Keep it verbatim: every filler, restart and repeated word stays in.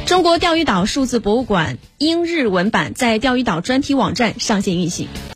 中国钓鱼岛数字博物馆英日文版在钓鱼岛专题网站上线运行。